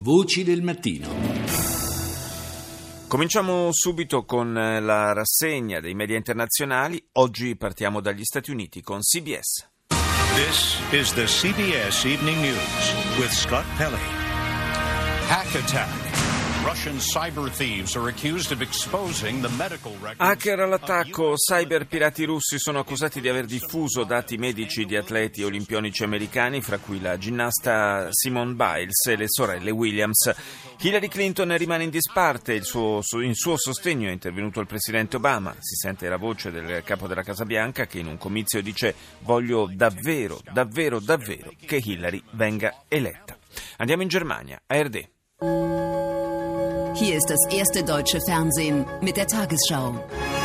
Voci del mattino. Cominciamo subito con la rassegna dei media internazionali. Oggi partiamo dagli Stati Uniti con CBS. This is the CBS Evening News with Scott Pelley. Hack attack. Russian cyber thieves are accused of exposing the medical records. Hacker all'attacco. Cyber pirati russi sono accusati di aver diffuso dati medici di atleti olimpionici americani, fra cui la ginnasta Simone Biles e le sorelle Williams. Hillary Clinton rimane in disparte. In suo sostegno è intervenuto il presidente Obama. Si sente la voce del capo della Casa Bianca che in un comizio dice: voglio davvero che Hillary venga eletta. Andiamo in Germania, ARD. Hier ist das erste deutsche Fernsehen mit der Tagesschau.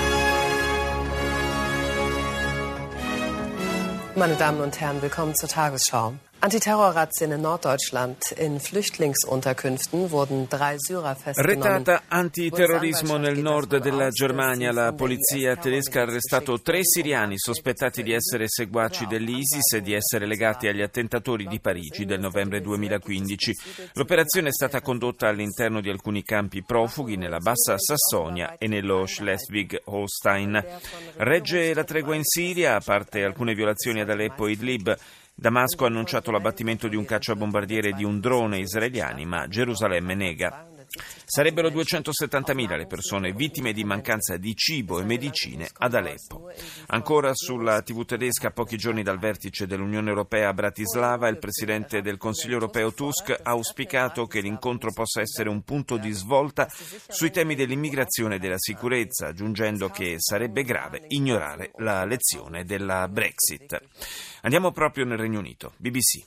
Meine Damen und Herren, willkommen zur Tagesschau. Antiterrorrazzien in Norddeutschland. In Flüchtlingsunterkünften wurden 3 Syrer festgenommen. Retata antiterrorismo nel nord della Germania. La polizia tedesca ha arrestato 3 siriani sospettati di essere seguaci dell'ISIS e di essere legati agli attentatori di Parigi del novembre 2015. L'operazione è stata condotta all'interno di alcuni campi profughi nella Bassa Sassonia e nello Schleswig-Holstein. Regge la tregua in Siria, a parte alcune violazioni ad Aleppo e Idlib. Damasco ha annunciato l'abbattimento di un cacciabombardiere e di un drone israeliani, ma Gerusalemme nega. Sarebbero 270.000 le persone vittime di mancanza di cibo e medicine ad Aleppo. Ancora sulla TV tedesca, a pochi giorni dal vertice dell'Unione Europea a Bratislava, il presidente del Consiglio Europeo Tusk ha auspicato che l'incontro possa essere un punto di svolta sui temi dell'immigrazione e della sicurezza, aggiungendo che sarebbe grave ignorare la lezione della Brexit. Andiamo proprio nel Regno Unito. BBC.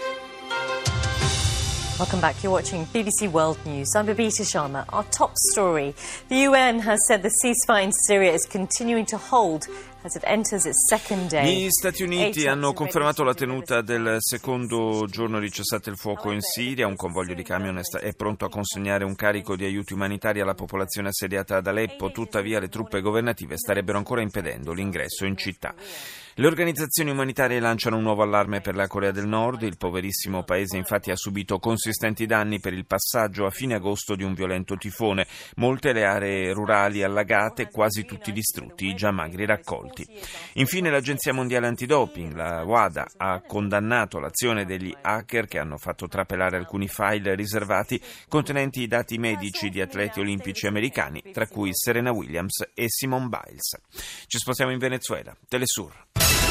Welcome back. You're watching BBC World News. I'm Babita Sharma. Our top story. The UN has said the ceasefire in Syria is continuing to hold as it enters its second day. Gli Stati Uniti hanno confermato la tenuta del secondo giorno di cessate il fuoco in Siria. Un convoglio di camion è pronto a consegnare un carico di aiuti umanitari alla popolazione assediata ad Aleppo. Tuttavia le truppe governative starebbero ancora impedendo l'ingresso in città. Le organizzazioni umanitarie lanciano un nuovo allarme per la Corea del Nord. Il poverissimo paese infatti ha subito consistenti danni per il passaggio a fine agosto di un violento tifone. Molte le aree rurali allagate, quasi tutti distrutti, i già magri raccolti. Infine l'Agenzia Mondiale Antidoping, la WADA, ha condannato l'azione degli hacker che hanno fatto trapelare alcuni file riservati contenenti i dati medici di atleti olimpici americani, tra cui Serena Williams e Simone Biles. Ci spostiamo in Venezuela. Telesur.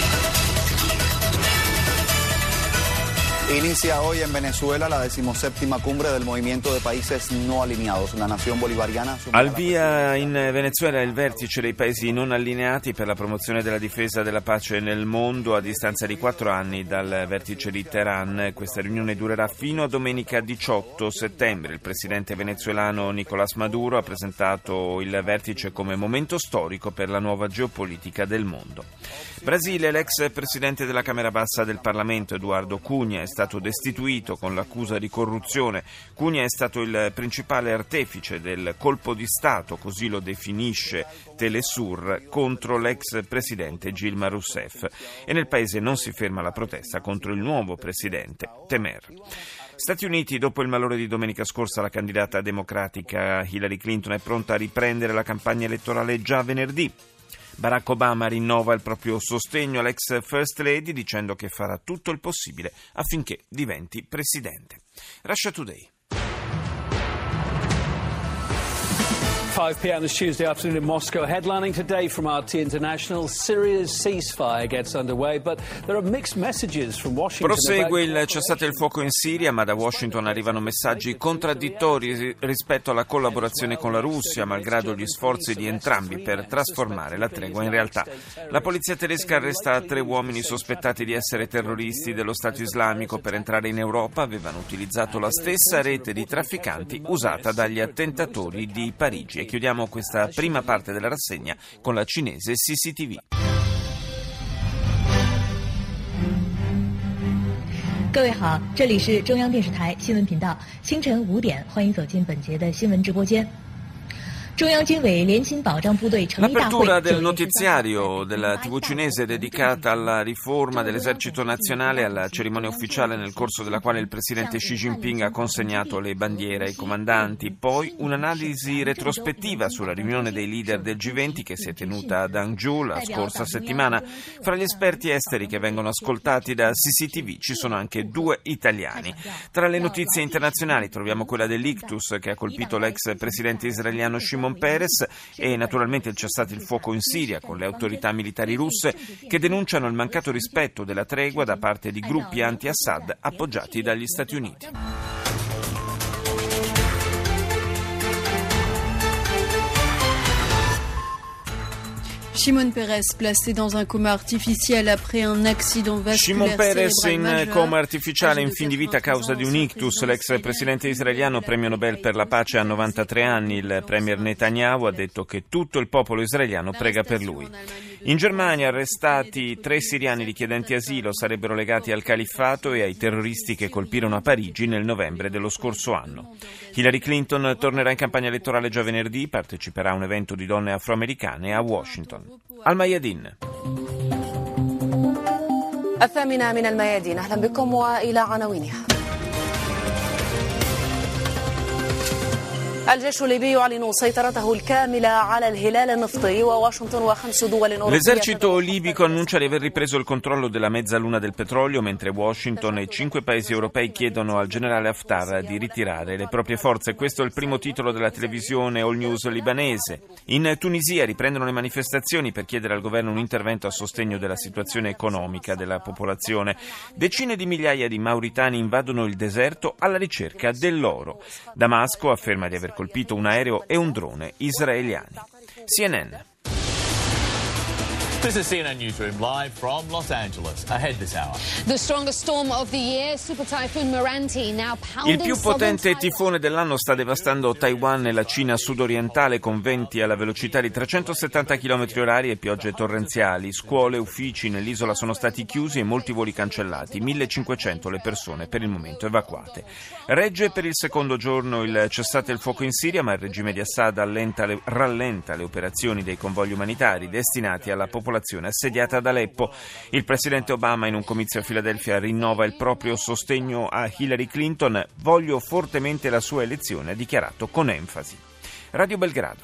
Inicia hoy en Venezuela la 17ª cumbre del Movimiento de Países No Alineados. La nación bolivariana al via in Venezuela il vertice dei paesi non allineati per la promozione della difesa della pace nel mondo a distanza di 4 anni dal vertice di Teheran. Questa riunione durerà fino a domenica 18 settembre. Il presidente venezuelano Nicolás Maduro ha presentato il vertice come momento storico per la nuova geopolitica del mondo. Brasile, l'ex presidente della Camera Bassa del Parlamento Eduardo Cunha è stato destituito con l'accusa di corruzione. Cunha è stato il principale artefice del colpo di Stato, così lo definisce Telesur, contro l'ex presidente Dilma Rousseff. E nel paese non si ferma la protesta contro il nuovo presidente Temer. Stati Uniti, dopo il malore di domenica scorsa, la candidata democratica Hillary Clinton è pronta a riprendere la campagna elettorale già venerdì. Barack Obama rinnova il proprio sostegno all'ex First Lady dicendo che farà tutto il possibile affinché diventi presidente. Russia Today. 5 p.m. this Tuesday afternoon in Moscow. Headlining today from RT International, Syria's ceasefire gets underway, but there are mixed messages from Washington. Prosegue il cessate il fuoco in Siria, ma da Washington arrivano messaggi contraddittori rispetto alla collaborazione con la Russia, malgrado gli sforzi di entrambi per trasformare la tregua in realtà. La polizia tedesca arresta 3 uomini sospettati di essere terroristi dello Stato Islamico. Per entrare in Europa avevano utilizzato la stessa rete di trafficanti usata dagli attentatori di Parigi. Chiudiamo questa prima parte della rassegna con la cinese CCTV. 各位好，这里是中央电视台新闻频道，清晨5点，欢迎走进本节的新闻直播间。 L'apertura del notiziario della TV cinese dedicata alla riforma dell'esercito nazionale, alla cerimonia ufficiale nel corso della quale il presidente Xi Jinping ha consegnato le bandiere ai comandanti, poi un'analisi retrospettiva sulla riunione dei leader del G20 che si è tenuta ad Hangzhou la scorsa settimana. Fra gli esperti esteri che vengono ascoltati da CCTV ci sono anche 2 italiani. Tra le notizie internazionali troviamo quella dell'ictus che ha colpito l'ex presidente israeliano Shimon Peres e naturalmente il cessate il fuoco in Siria con le autorità militari russe che denunciano il mancato rispetto della tregua da parte di gruppi anti-Assad appoggiati dagli Stati Uniti. Shimon Peres placé dans un coma artificiel après un accident vasculaire. Shimon Peres in coma artificiale in fin di vita a causa di un ictus. L'ex presidente israeliano, premio Nobel per la pace, ha 93 anni. Il premier Netanyahu ha detto che tutto il popolo israeliano prega per lui. In Germania arrestati 3 siriani richiedenti asilo, sarebbero legati al califfato e ai terroristi che colpirono a Parigi nel novembre dello scorso anno. Hillary Clinton tornerà in campagna elettorale già venerdì, parteciperà a un evento di donne afroamericane a Washington. Al-Mayadin. الثامنة من الميادين أهلا بكم وإلى عناوينها. الجيش الليبي يعلن سيطرته الكاملة على الهلال النفطي وواشنطن و5 دول أوروبية. L'esercito libico annuncia di aver ripreso il controllo della mezzaluna del petrolio, mentre Washington e 5 paesi europei chiedono al generale Haftar di ritirare le proprie forze. Questo è il primo titolo della televisione All News libanese. In Tunisia riprendono le manifestazioni per chiedere al governo un intervento a sostegno della situazione economica della popolazione. Decine di migliaia di mauritani invadono il deserto alla ricerca dell'oro. Damasco afferma di aver colpito un aereo e un drone israeliani. CNN. This is CNN Newsroom live from Los Angeles. Ahead this hour. The strongest storm of the year, Super Typhoon Meranti, now pounding. Il più potente tifone dell'anno sta devastando Taiwan e la Cina sudorientale con venti alla velocità di 370 km/h e piogge torrenziali. Scuole, uffici nell'isola sono stati chiusi e molti voli cancellati. 1500 le persone per il momento evacuate. Regge per il secondo giorno il cessate il fuoco in Siria, ma il regime di Assad rallenta le operazioni dei convogli umanitari destinati alla popolazione assediata ad Aleppo. Il presidente Obama in un comizio a Filadelfia rinnova il proprio sostegno a Hillary Clinton. Voglio fortemente la sua elezione, ha dichiarato con enfasi. Radio Belgrado.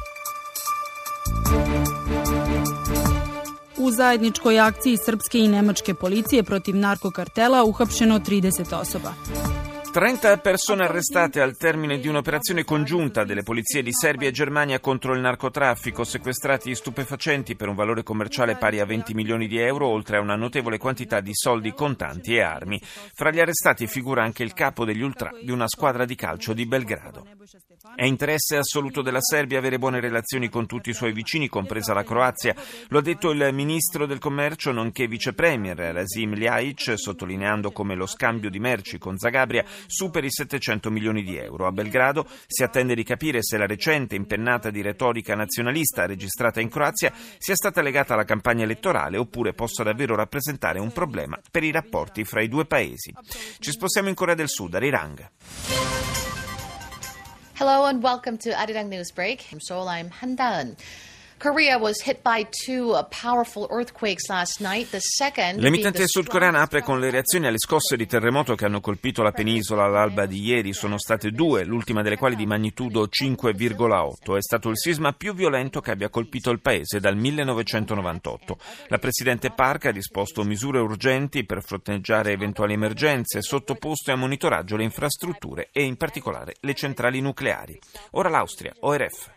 U zajedničkoj akciji srpske i nemačke policije protiv narkokartela uhapšeno 30 osoba. 30 persone arrestate al termine di un'operazione congiunta delle polizie di Serbia e Germania contro il narcotraffico, sequestrati stupefacenti per un valore commerciale pari a 20 milioni di euro, oltre a una notevole quantità di soldi contanti e armi. Fra gli arrestati figura anche il capo degli ultra di una squadra di calcio di Belgrado. È interesse assoluto della Serbia avere buone relazioni con tutti i suoi vicini, compresa la Croazia. Lo ha detto il ministro del commercio nonché vice premier Rasim Ljajic, sottolineando come lo scambio di merci con Zagabria superi 700 milioni di euro. A Belgrado si attende di capire se la recente impennata di retorica nazionalista registrata in Croazia sia stata legata alla campagna elettorale oppure possa davvero rappresentare un problema per i rapporti fra i 2 paesi. Ci spostiamo in Corea del Sud, a Rirang. Hello and welcome to Arirang Newsbreak. From Seoul, I'm Han Da-eun. Korea was hit by 2 powerful earthquakes last night, the second. L'emittente sudcoreana apre con le reazioni alle scosse di terremoto che hanno colpito la penisola all'alba di ieri. Sono state 2, l'ultima delle quali di magnitudo 5,8. È stato il sisma più violento che abbia colpito il paese dal 1998. La presidente Park ha disposto misure urgenti per fronteggiare eventuali emergenze, sottoposte a monitoraggio le infrastrutture e in particolare le centrali nucleari. Ora l'Austria, ORF.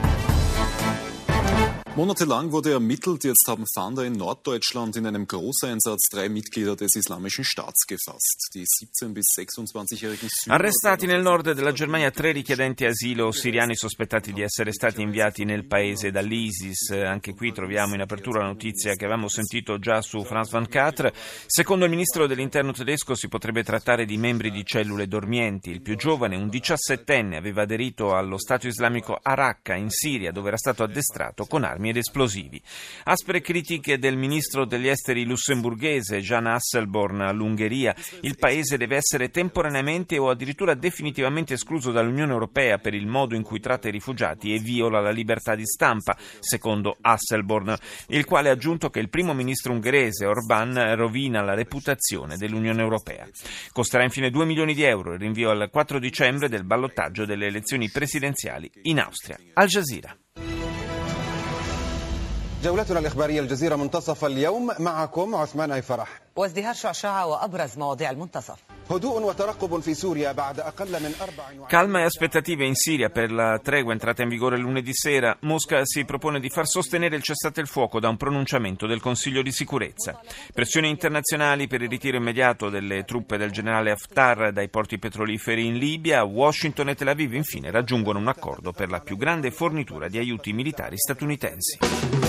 Monatelang wurde ermittelt. Jetzt haben Fahnder in Norddeutschland in einem Großeinsatz 3 Mitglieder des Islamischen Staats gefasst. Die 17- bis 26-jährigen Syrer. Arrestati nel nord della Germania 3 richiedenti asilo siriani sospettati di essere stati inviati nel paese dall'ISIS. Anche qui troviamo in apertura la notizia che avevamo sentito già su France 24. Secondo il ministro dell'interno tedesco si potrebbe trattare di membri di cellule dormienti. Il più giovane, un 17enne, aveva aderito allo Stato islamico a Raqqa in Siria, dove era stato addestrato con armi armi ed esplosivi. Aspre critiche del ministro degli esteri lussemburghese Jan Asselborn all'Ungheria. Il paese deve essere temporaneamente o addirittura definitivamente escluso dall'Unione Europea per il modo in cui tratta i rifugiati e viola la libertà di stampa, secondo Asselborn, il quale ha aggiunto che il primo ministro ungherese Orbán rovina la reputazione dell'Unione Europea. Costerà infine 2 milioni di euro il rinvio al 4 dicembre del ballottaggio delle elezioni presidenziali in Austria. Al Jazeera. جولتنا الإخبارية الجزيرة منتصف اليوم معكم عثمان أي فرح وازدهار شعشعة وأبرز مواضيع المنتصف. هدوء وترقب في سوريا بعد أقل من 4. Calma e aspettative in Siria per la tregua entrata in vigore lunedì sera. Mosca si propone di far sostenere il cessate il fuoco da un pronunciamento del Consiglio di sicurezza. Pressioni internazionali per il ritiro immediato delle truppe del generale Haftar dai porti petroliferi in Libia. Washington e Tel Aviv infine raggiungono un accordo per la più grande fornitura di aiuti militari statunitensi.